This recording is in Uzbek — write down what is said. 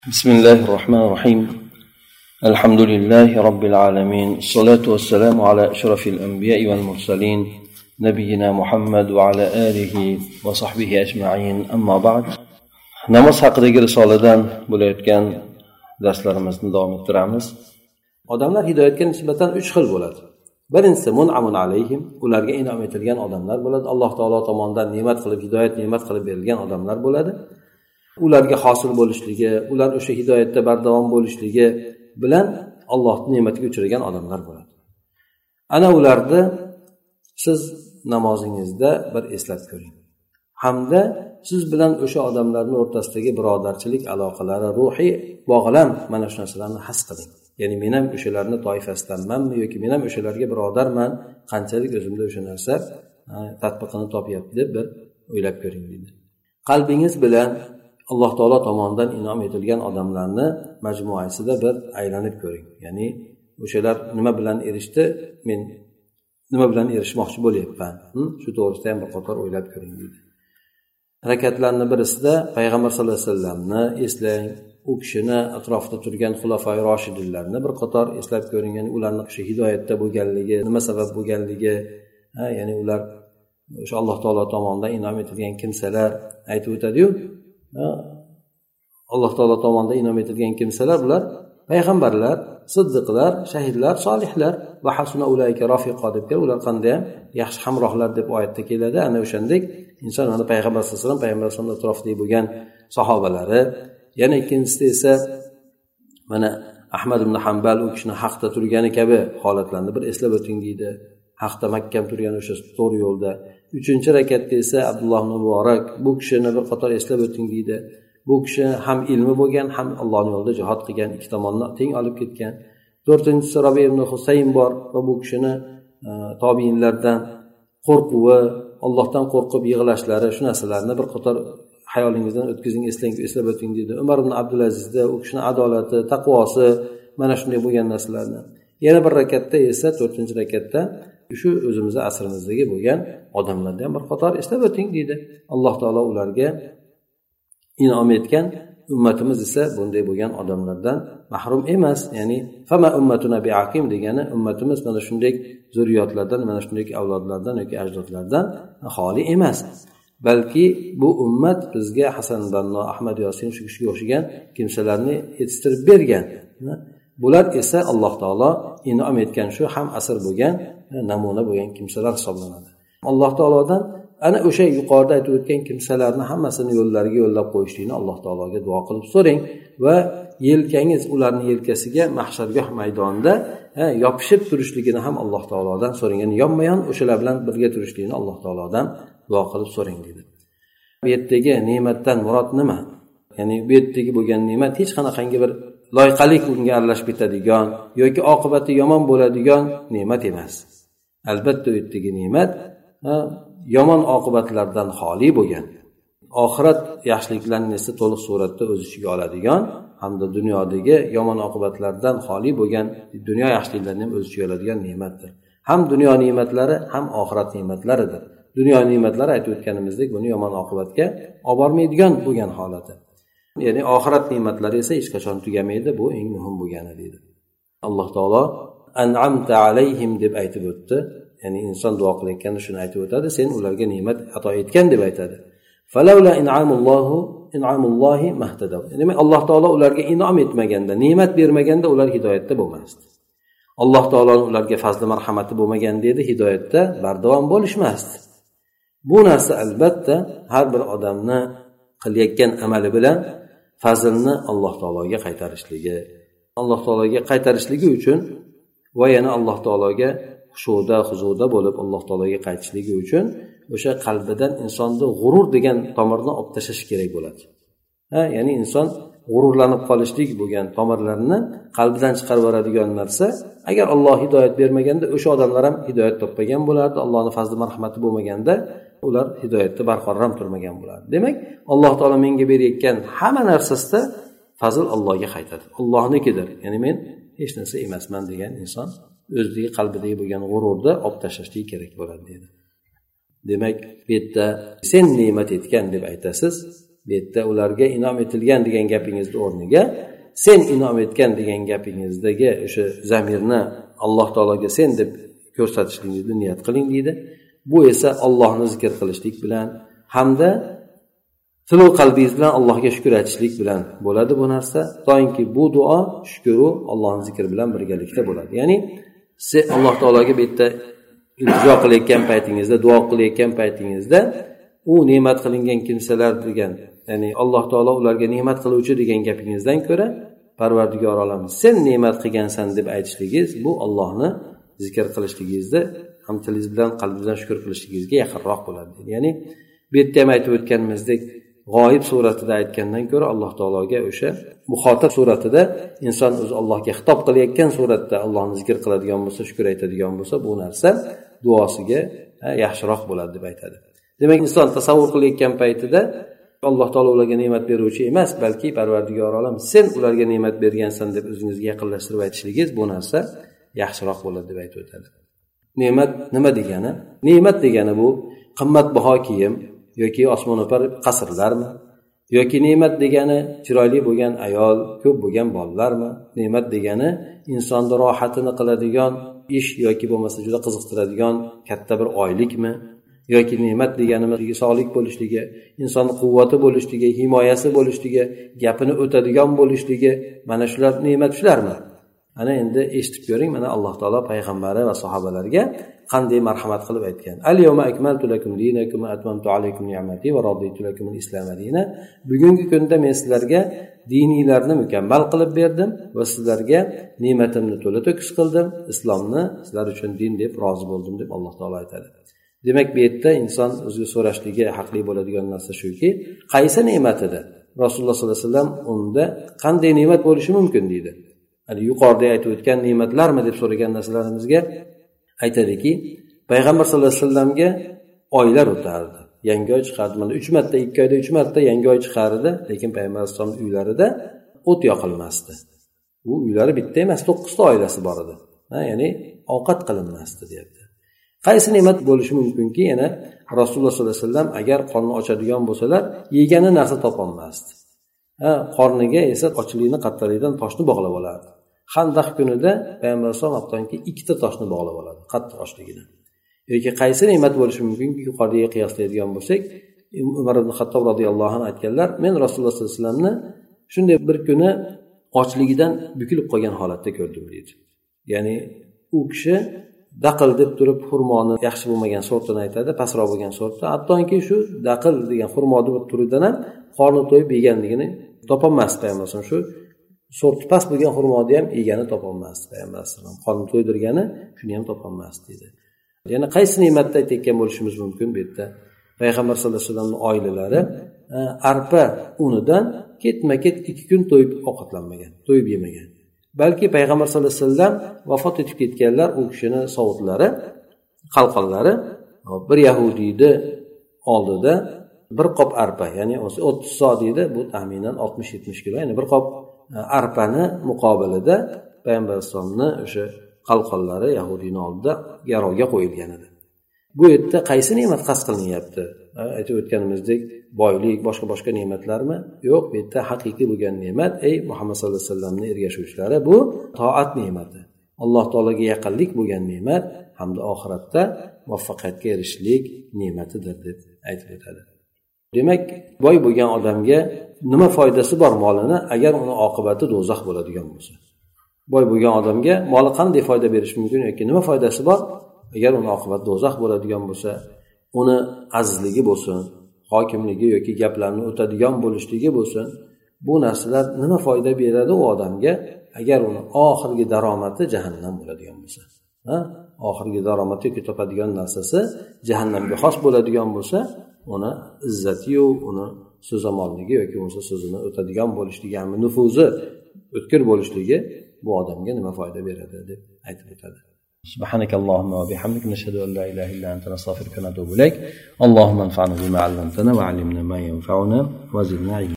بسم الله الرحمن الرحيم الحمد لله رب العالمين الصلاة والسلام على أشرف الأنبياء والمرسلين نبينا محمد وعلى آله وصحبه أجمعين أما بعد namoz haqidagi risoladan bo'layotgan darslarimizni davom ettiramiz. Odamlar hidoyatga nisbatan 3 xil bo'ladi. Birinchisi mun'amun alayhim, ularga inom etilgan odamlar bo'ladi. Alloh taolo tomonidan ne'mat qilib berilgan odamlar bo'ladi. Ularga hosil bo'lishligi, ular o'sha hidoyatda bardavom bo'lishligi bilan Allohning ne'matiga uchragan odamlar bo'ladi. Ana ularni siz namozingizda bir eslab ko'ring. Hamda siz bilan o'sha odamlarning o'rtasidagi birodarchilik aloqalari, ruhiy bog'lan mana shu narsalarni his qiling. Ya'ni men ham o'shalarning toifasidanmanmi yoki men ham o'shalarga birodarman, qanchalik o'zimda o'sha narsa tatbiqini topyapti deb bir o'ylab ko'ring deydi. Qalbingiz bilan Alloh taolo tomonidan inom etilgan odamlarni majmuasida bir aylanib ko'ring. Ya'ni o'shalar nima bilan erishdi, men nima bilan erishmoqchi bo'lyapman. Shu to'g'risida ham bir qator o'ylab ko'ring deydi. Harakatlarning birisida payg'ambar sollallohu alayhi vasallamni eslang, u kishini atrofida turgan xulafoi roshidinlarni bir qator eslab ko'ring. Ya'ni ularning o'sha hidoyatda bo'lganligi, nima sabab bo'lganligi, ya'ni ular o'sha Alloh taolo tomonidan inom etilgan kimsalar aytib o'tadi-yu, Alloh taolo tomonidan inom etilgan kimsalar bular payg'ambarlar, siddiqlar, shahidlar, solihlar va hasuna ulayka rafiqa deb ular qanday ham yaxshi hamrohlar deb oyatda keladi. Ana o'shandek inson mana payg'ambar sollallohu alayhi vasallam, payg'ambar sollallohu atrofida bo'lgan sahobalari, yana ikkinchisida esa mana Ahmad ibn Hanbal u kishini haqda turgani kabi holatlarni bir eslab o'ting deydi. Haqda mahkam turgan o'sha to'g'ri yo'lda. 3-rakatda esa Abdulloh ibn Muborak bu kishini bir qator eslab o'ting deydi. Bu kishi ham ilmi bo'lgan, ham Allohning yo'lida jihad qilgan, ikki tomonni teng olib ketgan. 4-si Rabi ibn Husayn bor va bu kishini tobiinlardan qo'rquvi, Allohdan qo'rqib yig'lashlari, shu narsalarni bir qator hayolingizdan o'tkazing, eslang, eslab o'ting deydi. Umar ibn Abdulazizda u kishining adolati, taqvosi, mana shunday bo'lgan narsalarni. Yana bir rakatda esa 4-rakatda shu o'zimizning asrimizdagi bo'lgan odamlardan bir qator eslab o'ting deydi. Alloh taolo ularga inom etgan, ummatimiz esa bunday bo'lgan odamlardan mahrum emas. Ya'ni fama ummatuna biaqim degani ummatimiz mana shunday zurriyotlardan, mana shunday avlodlardan yoki ajdodlardan xoli emas. Balki bu ummat bizga Hasan Banno, Ahmad Yosin shu kishiga o'xshagan kimsalarni yetishtirib bergan. Bular esa Alloh taolo inom etgan shu ham asr bo'lgan, namuna bo'lgan kimsalar hisoblanadi. Alloh taolodan ana o'sha yuqorida aytib o'tgan kimsalarni hammasini yo'llariga yo'llab qo'yishlikni Alloh taologa duo qilib so'rang va yelkangiz ularning yelkasiga mahshargoh maydonida yopishib turishligini ham Alloh taolodan so'rang. Ya'ni yonma-yon o'shalar bilan birga turishligini Alloh taolodan duo qilib so'rang dedi. Bu yerdagi ne'matdan murod nima? Ya'ni bu yerdagi bo'lgan ne'mat hech qanaqangi bir loyiqalik unga aralashib ketadigan yoki oqibati yomon bo'ladigan ne'mat emas. Albatta u yerdagi ne'mat yomon oqibatlardan xoli bo'lgan, oxirat yaxshiliklarini esa to'liq suratda o'z ichiga oladigan hamda dunyodagi yomon oqibatlardan xoli bo'lgan dunyo yaxshiliklarini ham o'z ichiga oladigan ne'matdir. Ham dunyo ne'matlari, ham oxirat ne'matlaridir. Dunyo ne'matlari aytib o'tganimizdek buni yomon oqibatga olib bormaydigan bo'lgan holati. Ya'ni oxirat ne'matlari esa hech qachon tugamaydi, bu eng muhim bo'lgani deydi. Alloh taolo an'amta alayhim deb aytib o'tdi. Ya'ni inson duo qilayotganda shuni aytib o'tadi, sen ularga ne'mat ato etgan deb aytadi. Falawla in'amullohi mahtadaw. Demak Alloh taolo ularga inom etmaganda, ne'mat bermaganda ular hidoyatda bo'lmasdi. Alloh taoloning ularga fazli marhamati bo'lmaganda edi, hidoyatda bardavom bo'lishmasdi. Bu narsa albatta har bir odamni qilayotgan amali bilan fazlni Alloh taologa qaytarishligi, Alloh taologa qaytarishligi uchun va yana Alloh taologa xushuda, huzuda bo'lib Alloh taologa qaytishligi uchun o'sha qalbidan insonni g'urur degan tomirni olib tashlash kerak bo'ladi. Ya'ni inson g'ururlanib qolishlik bo'lgan tomirlarni qalbidan chiqarib yuboradigan narsa, agar Alloh hidoyat bermaganda o'sha odamlar ham hidoyat topmagan bo'lardi. Allohning fazli marhamati bo'lmaganda ular hidoyatda barqaror ham turmagan bo'lardi. Demak, Alloh taolo menga berayotgan hamma narsasida fazl Allohga qaytadi. Allohnikidir. Ya'ni men hech narsa emasman degan inson o'zidagi qalbidagi bo'lgan g'ururni olib tashlashlik kerak bo'ladi dedi. Demak, bu yerda sen ne'mat etgan deb aytasiz. bu yerda ularga inom etilgan degan gapingizni o'rniga sen inom etgan degan gapingizdagi o'sha zamirni alloh taologa sen deb ko'rsatishligingizni niyat qiling deydi. Bu esa Allohni zikr qilishlik bilan hamda tilu qalbingiz bilan Allohga shukr aytishlik bilan bo'ladi bu narsa. Doimki bu duo shukru Allohning zikri bilan birgalikda bo'ladi. Ya'ni siz Alloh taologa bu yerda iltijo qilayotgan paytingizda, duo qilayotgan paytingizda u ne'mat qilingan kimsalar degan, ya'ni Alloh taolo ularga ne'mat qiluvchi degan gapingizdan ko'ra Parvardigor olam sen ne'mat qilgansan deb aytishligingiz bu Allohni zikr qilishligingizda ham tilingiz bilan qalbingizdan shukr qilishligingizga yaqinroq bo'ladi. Ya'ni bu yerda ham aytib o'tganimizdek g'oyib suratida aytgandan ko'ra Alloh taologa o'sha muxotab suratida inson o'zi Allohga xitob qilayotgan suratda Allohni zikr qiladigan bo'lsa, shukr aytadigan bo'lsa, bu narsa duosiga yaxshiroq bo'ladi deb aytadi. Demak, inson tasavvur qilayotgan paytida Alloh taolo ularga ne'mat beruvchi emas, balki Parvardigor olam sen ularga ne'mat bergansan deb o'zingizga yaqinlashtirib aytishligingiz bu narsa yaxshiroq bo'ladi deb aytib o'tadi. Ne'mat nima degani? Ne'mat degani bu qimmatbaho kiyim yoki osmono'par qasrlarmi? Yoki ne'mat degani chiroyli bo'lgan ayol, ko'p bo'lgan bolalarmi? Ne'mat degani insonni rohatini qiladigan ish yoki bo'lmasa juda qiziqtiradigan katta bir oylikmi? Yoki ne'mat deganimiz sog'lik bo'lishligi, insonning quvvati bo'lishligi, himoyasi bo'lishligi, gapini o'tadigan bo'lishligi, mana shular ne'mat shularmi? Ana endi eshitib ko'ring, mana Alloh taolo payg'ambari va sahobalarga qanday marhamat qilib aytgan. Al-yawma akmaltu lakum dinakum va atmamtu alaykum ni'mati va raditu lakum al-islam dinan. Bugungi kunda men sizlarga diniylarni mukammal qilib berdim va sizlarga ne'matimni to'la to'kis qildim, islomni sizlar uchun din deb rozi bo'ldim deb Alloh taolo aytadi. Demak, bu yerda inson o'ziga so'rashligi haqli bo'ladigan narsa shuki, qaysi ne'mat edi? Rasululloh sollallohu alayhi vasallam unda qanday ne'mat bo'lishi mumkin deydi. Yuqorida aytib o'tgan ne'matlarmi deb so'ragan narsalarimizga aytadiki, payg'ambar sollallohu alayhi vasallamga oylar o'tardi, yangi oy chiqardi. Mana 3 marta, 2 oyda 3 marta yangi oy chiqardi, lekin payg'ambar sollallohu alayhi vasallam uylarida o't yoqilmasdi. U uylari bitta emas, 9 ta oilasi bor edi. Ya'ni ovqat qilinmasdi deyapti. Qaysi ne'mat bo'lishi mumkinki, yana Rasululloh sollallohu alayhi vasallam agar qorni ochadigan bo'lsalar, yegani narsa topolmasdi. Qorniga esa ochlikni qattaligidan toshni bog'lab olardi. Handaq kunida payg'ambar sollallohu 2 ta toshni bog'lab oladi, qattiq ochligidan. Yoki qaysi ne'mat bo'lishi mumkinki, yuqoriga qiyoslaydigan bo'lsak, Umar ibn Xattob radhiyallohu anhu aytganlar, men Rasululloh sollallohu alayhi vasallamni shunday bir kuni ochligidan bukilib qolgan holatda ko'rdim deydi. Ya'ni u kishi daqil deb turib xurmoni yaxshi bo'lmagan sortini aytadi, pastroq bo'lgan sortda. Hattoki shu daqil degan xurmoni turidan ham qorni to'yib yeganligini topolmasdi payg'ambar. Shu sorti past bo'lgan xurmoni ham yegani topolmasdi payg'ambar. Qorni to'ydirgani shuni ham topolmasdi dedi. Ya'ni qaysi ne'matni aytayotgan bo'lishimiz mumkin bu yerda? Payg'ambar sollallohu alayhi vasallamning oilalari arpa unidan ketma-ket 2 kun to'yib ovqatlanmagan, to'yib yemagan. Balki payg'ambar sollallohu alayhi vasallam vafot etib ketganlar, u kishini sovutlari, qalqonlari bir yahudiyni oldida bir qop arpa, ya'ni 30 so deydi, bu taxminan 60-70 kilo, ya'ni bir qop arpani muqobilida payg'ambar sollallohu o'sha qalqonlari yahudiyning oldida garovga qo'yilgan edi. Bu yerda qaysi ne'mat qasd qilinyapti? Aytib o'tganimizdek, boylik, boshqa ne'matlarmi? Yo'q, bu yerda haqiqiy bo'lgan ne'mat, ey Muhammad sollallohu alayhi vasallamning ergashuvchilari, bu toat ne'mati. Alloh taolaga yaqinlik bo'lgan ne'mat hamda oxiratda muvaffaqiyatga erishishlik ne'matidir deb aytib o'tadi. Demak, boy bo'lgan odamga nima foydasi bor molini agar uni oqibati do'zax bo'ladigan bo'lsa? Boy bo'lgan odamga moli qanday foyda berish mumkin yoki nima foydasi bor agar uni oqibati do'zax bo'ladigan bo'lsa? Uni azizligi bo'lsin, hokimligi yoki gaplarni o'tadigan bo'lishligi bo'lsin, bu narsalar nima foyda beradi u odamga agar uni oxirgi daromati jahannam bo'ladigan bo'lsa? Oxirgi daromati yoki topadigan narsasi jahannamga xos bo'ladigan bo'lsa, uni izzati-yu, uni so'zamoligi yoki bo'lmasa so'zini o'tadigan bo'lishligi, hamda nufuzi o'tkir bo'lishligi bu odamga nima foyda beradi deb aytib o'tadi. سبحانك اللهم وبحمدك نشهد أن لا إله إلا أنت نستغفرك ونتوب إليك اللهم انفعنا بما علمتنا وعلمنا ما ينفعنا وزدنا علما